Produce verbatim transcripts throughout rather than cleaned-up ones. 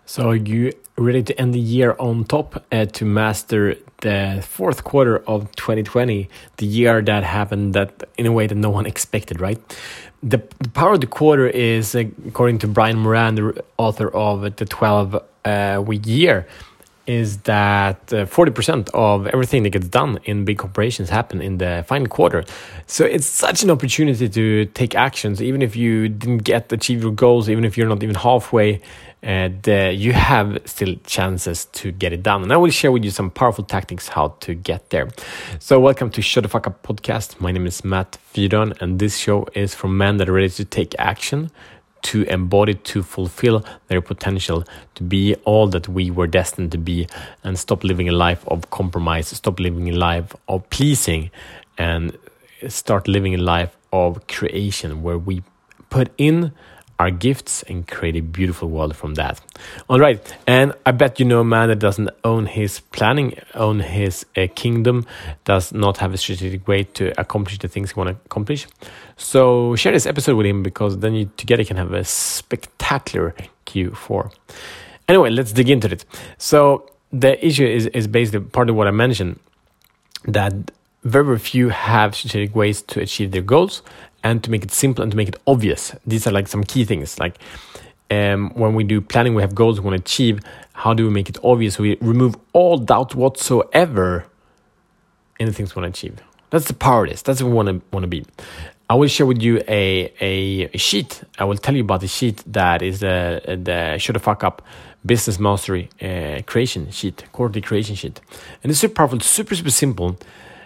So are you ready to end the year on top uh, to master the fourth quarter of twenty twenty, the year that happened that in a way that no one expected, right? The, the power of the quarter is, uh, according to Brian Moran, the author of the twelve week year, is that uh, forty percent of everything that gets done in big corporations happen in the final quarter. So it's such an opportunity to take actions, even if you didn't get achieve your goals, even if you're not even halfway, and uh, you have still chances to get it done. And I will share with you some powerful tactics how to get there. So welcome to Shut the Fuck Up podcast. My name is Matt Fyron, and this show is for men that are ready to take action, to embody, to fulfill their potential, to be all that we were destined to be, and stop living a life of compromise, stop living a life of pleasing, and start living a life of creation where we put in our gifts and create a beautiful world from that. All right, and I bet you know a man that doesn't own his planning, own his uh, kingdom, does not have a strategic way to accomplish the things he want to accomplish. So share this episode with him, because then you together can have a spectacular Q four. Anyway, let's dig into it. So the issue is, is basically part of what I mentioned, that very, very few have strategic ways to achieve their goals, and to make it simple and to make it obvious. These are like some key things. Like um, when we do planning, we have goals we want to achieve. How do we make it obvious? We remove all doubt whatsoever in the things we want to achieve. That's the power of this. That's what we want to want to be. I will share with you a, a, a sheet. I will tell you about the sheet that is the, the Shut the Fuck Up Business Mastery uh, creation sheet, quarterly creation sheet. And it's super powerful, super, super simple.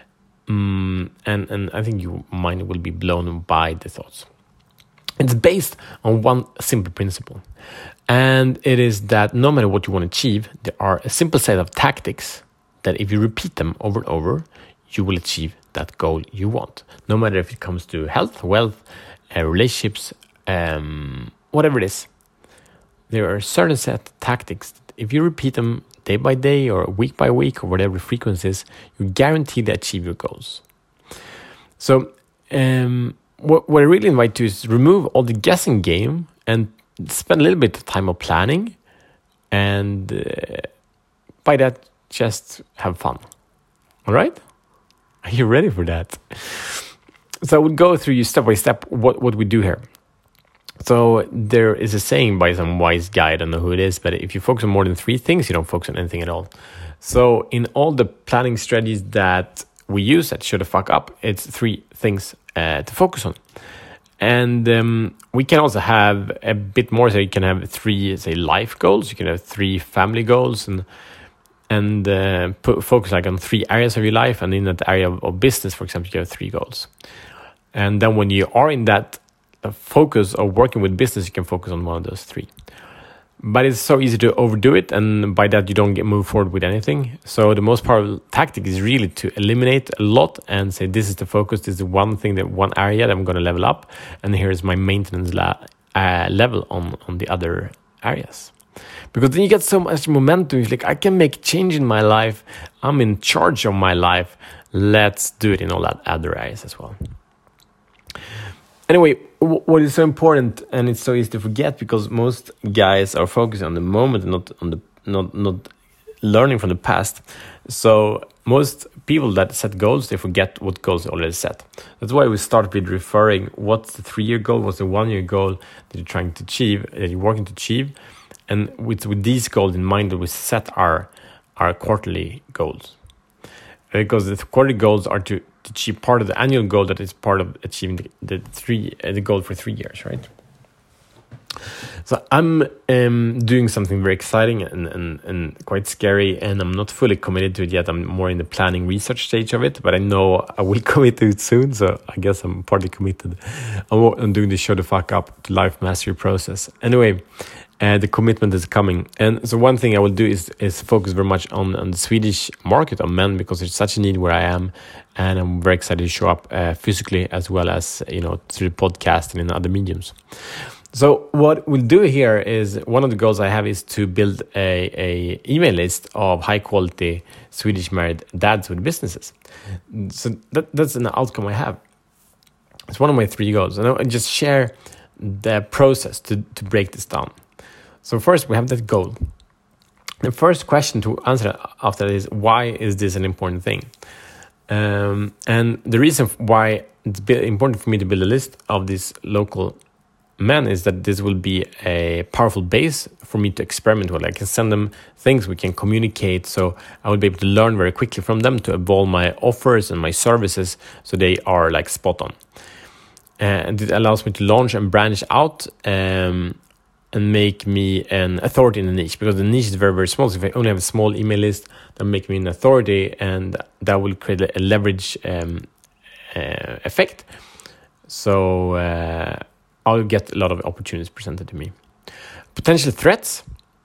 Mm, and, and I think your mind will be blown by the thoughts. It's based on one simple principle. And it is that no matter what you want to achieve, there are a simple set of tactics that if you repeat them over and over, you will achieve that goal you want. No matter if it comes to health, wealth, uh, relationships, um, whatever it is. There are a certain set of tactics that if you repeat them day by day or week by week or whatever frequency is, you guarantee to achieve your goals. So um, what, what I really invite you is remove all the guessing game and spend a little bit of time of planning, and uh, by that, just have fun. All right? Are you ready for that? So I would go through you step by step what, what we do here. So there is a saying by some wise guy, I don't know who it is, but if you focus on more than three things, you don't focus on anything at all. So in all the planning strategies that we use at Shut the Fuck Up, it's three things uh, to focus on. And um, we can also have a bit more. So you can have three, say, life goals. You can have three family goals, and and uh, put, focus like on three areas of your life. And in that area of, of business, for example, you have three goals. And then when you are in that a focus of working with business, you can focus on one of those three. But it's so easy to overdo it, and by that you don't get move forward with anything. So the most powerful tactic is really to eliminate a lot and say, this is the focus, this is the one thing, that one area that I'm going to level up, and here is my maintenance la- uh, level on, on the other areas. Because then you get so much momentum. It's like, I can make change in my life, I'm in charge of my life, let's do it in all that other areas as well. Anyway, what is so important, and it's so easy to forget, because most guys are focusing on the moment and not on the not not learning from the past. So most people that set goals, they forget what goals they already set. That's why we start with referring what's the three-year goal, what's the one-year goal that you're trying to achieve, that you're working to achieve, and with with these goals in mind, that we set our our quarterly goals. Because the quarterly goals are to, to achieve part of the annual goal that is part of achieving the, the three uh, the goal for three years, right? So I'm um, doing something very exciting and, and, and quite scary, and I'm not fully committed to it yet. I'm more in the planning research stage of it, but I know I will commit to it soon, so I guess I'm partly committed. I'm, I'm doing the Shut the Fuck Up to life mastery process. Anyway, Uh, the commitment is coming. And so one thing I will do is is focus very much on, on the Swedish market of men, because there's such a need where I am, and I'm very excited to show up uh, physically as well as, you know, through the podcast and in other mediums. So what we'll do here is, one of the goals I have is to build a, a email list of high quality Swedish married dads with businesses. So that, that's an outcome I have. It's one of my three goals. And I just share the process to, to break this down. So first we have that goal. The first question to answer after that is, why is this an important thing? Um, and the reason why it's important for me to build a list of these local men is that this will be a powerful base for me to experiment with. I can send them things, we can communicate, so I will be able to learn very quickly from them to evolve my offers and my services so they are like spot on. And it allows me to launch and branch out um, and make me an authority in the niche, because the niche is very, very small. So if I only have a small email list, that will make me an authority, and that will create a leverage um, uh, effect. So uh, I'll get a lot of opportunities presented to me. Potential threats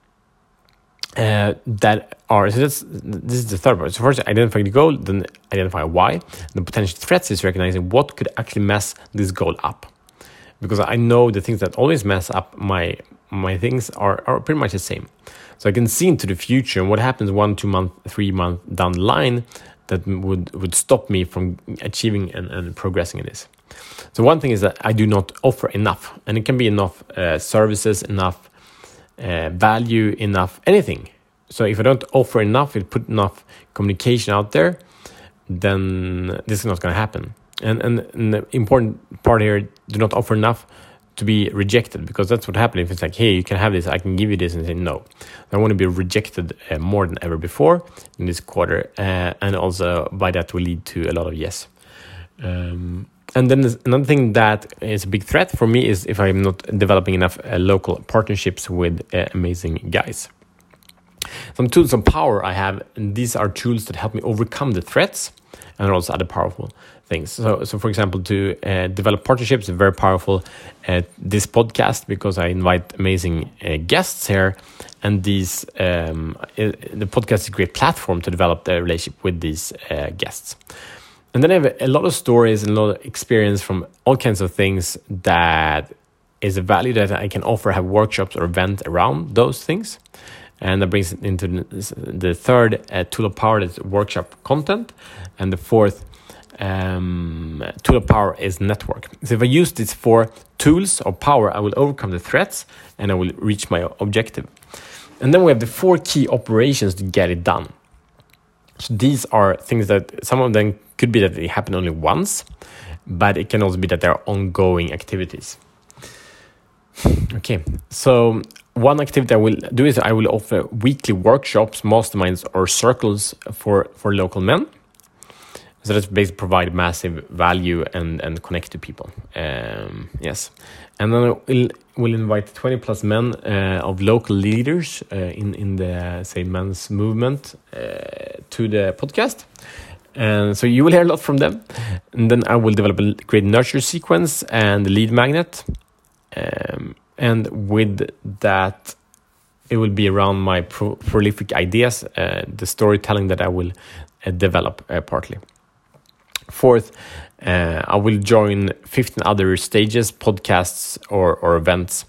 uh, that are, so that's, this is the third part. So first identify the goal, then identify why. The potential threats is recognizing what could actually mess this goal up. Because I know the things that always mess up my my things are, are pretty much the same. So I can see into the future and what happens one, two month, three month down the line that would, would stop me from achieving and, and progressing in this. So one thing is that I do not offer enough, and it can be enough uh, services, enough uh, value, enough anything. So if I don't offer enough, if I put enough communication out there, then this is not going to happen. And, and, and the important part here, do not offer enough to be rejected, because that's what happens if it's like, hey, you can have this, I can give you this, and say no. I want to be rejected uh, more than ever before in this quarter, uh, and also by that will lead to a lot of yes. Um, and then another thing that is a big threat for me is if I'm not developing enough uh, local partnerships with uh, amazing guys. Some tools of power I have, and these are tools that help me overcome the threats and also other powerful things. So, so for example, to uh, develop partnerships is very powerful. Uh, this podcast, because I invite amazing uh, guests here, and these um, it, the podcast is a great platform to develop the relationship with these uh, guests. And then I have a lot of stories and a lot of experience from all kinds of things that is a value that I can offer, have workshops or events around those things. And that brings it into the third uh, tool of power, that's workshop content. And the fourth um, tool of power is network. So if I use these four tools of power, I will overcome the threats and I will reach my objective. And then we have the four key operations to get it done. So these are things that some of them could be that they happen only once, but it can also be that they're ongoing activities. Okay, so one activity I will do is I will offer weekly workshops, masterminds, or circles for, for local men. So that's basically provide massive value and, and connect to people. Um, yes. And then we'll, we'll invite twenty plus men uh, of local leaders uh, in, in the, say, men's movement uh, to the podcast. And so you will hear a lot from them. And then I will develop a great nurture sequence and the lead magnet. Um, and with that, it will be around my pro- prolific ideas, uh, the storytelling that I will uh, develop uh, partly. Fourth, uh, I will join fifteen other stages, podcasts, or, or events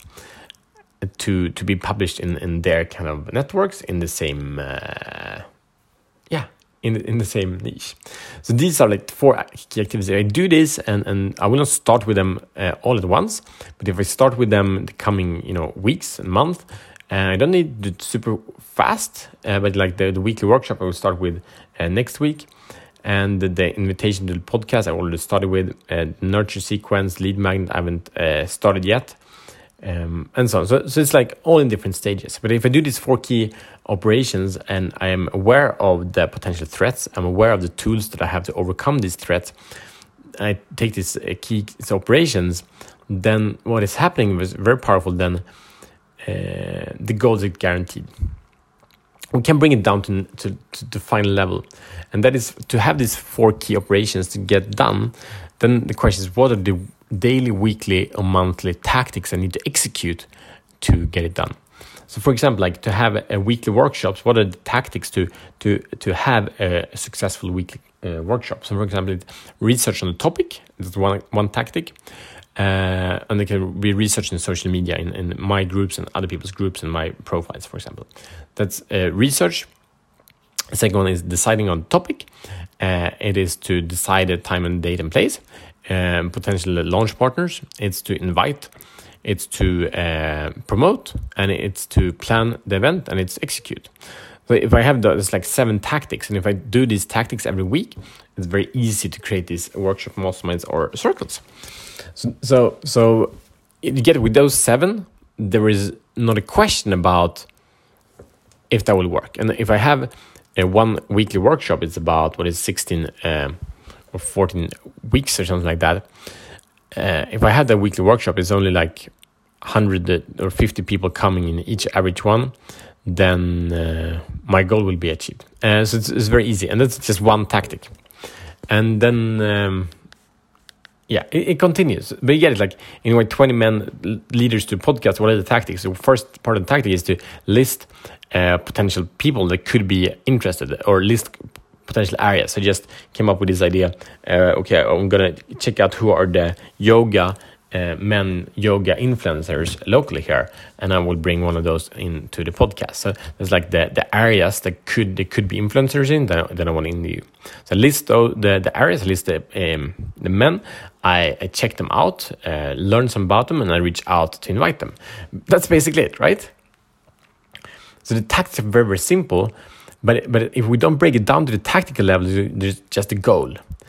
to to be published in, in their kind of networks in the same, uh, yeah, in in the same niche. So these are like four key activities. I do this, and, and I will not start with them uh, all at once. But if I start with them in the coming, you know, weeks and months, and I don't need to do it super fast. Uh, but like the, the weekly workshop, I will start with uh, next week. And the, the invitation to the podcast, I already started with uh, nurture sequence, lead magnet. I haven't uh, started yet, um, and so on. So, so it's like all in different stages. But if I do these four key operations and I am aware of the potential threats, I'm aware of the tools that I have to overcome these threats, I take these uh, key these operations, then what is happening was very powerful. Then uh, the goals are guaranteed. We can bring it down to, to, to the final level. And that is to have these four key operations to get done. Then the question is, what are the daily, weekly, or monthly tactics I need to execute to get it done? So for example, like to have a, a weekly workshops, what are the tactics to to to have a, a successful weekly uh, workshop? So for example, research on the topic, that's one, one tactic. Uh, and they can be researched in social media, in, in my groups and other people's groups and my profiles, for example. That's uh, research. The second one is deciding on the topic. Uh, it is to decide the time and date and place. Um, potential launch partners. It's to invite it's to uh, promote, and it's to plan the event, and it's execute. So if I have those like seven tactics, and if I do these tactics every week, it's very easy to create these workshop, masterminds, or circles. So, so, so you get it, with those seven, there is not a question about if that will work. And if I have a one weekly workshop, it's about what is sixteen um, or fourteen weeks or something like that. Uh, if I had that weekly workshop, it's only like one hundred or fifty people coming in each average one, then uh, my goal will be achieved. Uh, so it's, it's very easy, and that's just one tactic. And then, um, yeah, it, it continues. But you get it, like, in way, twenty men leaders to podcast, what are the tactics? The first part of the tactic is to list uh, potential people that could be interested, or list potential areas. I just came up with this idea. Uh, okay, I'm going to check out who are the yoga Uh, men yoga influencers locally here, and I will bring one of those into the podcast. So it's like the the areas that could they could be influencers in that, that I want to interview. So list those, the the areas, list the um, the men. I, I check them out, uh, learn some about them, and I reach out to invite them. That's basically it, right? So the tactics are very very simple, but but if we don't break it down to the tactical level, there's just a goal,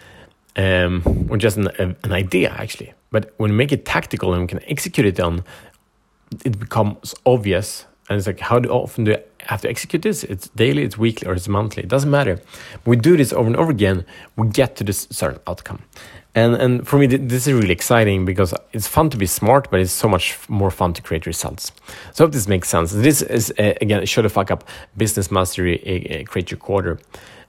um, or just an, an idea actually. But when we make it tactical and we can execute it on, it becomes obvious. And it's like, how do, often do I have to execute this? It's daily, it's weekly, or it's monthly. It doesn't matter. When we do this over and over again, we get to this certain outcome. And and for me, this is really exciting because it's fun to be smart, but it's so much more fun to create results. So I hope this makes sense. This is, uh, again, Show the Fuck Up, Business Mastery, uh, Create Your Quarter.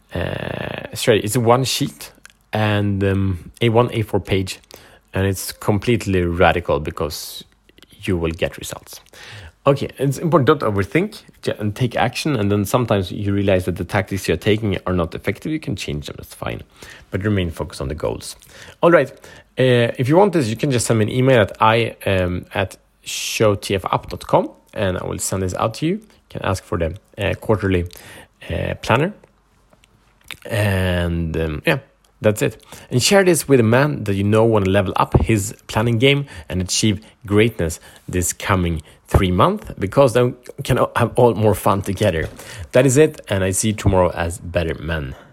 Uh, straight. It's a one sheet and um, a one A four page. And it's completely radical because you will get results. Okay, it's important, don't overthink and take action. And then sometimes you realize that the tactics you're taking are not effective. You can change them, that's fine. But remain focused on the goals. All right, uh, if you want this, you can just send me an email at i um, at showtfup dot com, and I will send this out to you. You can ask for the uh, quarterly uh, planner. And um, yeah. That's it. And share this with a man that you know want to level up his planning game and achieve greatness this coming three months, because then we can have all more fun together. That is it, and I see you tomorrow as better men.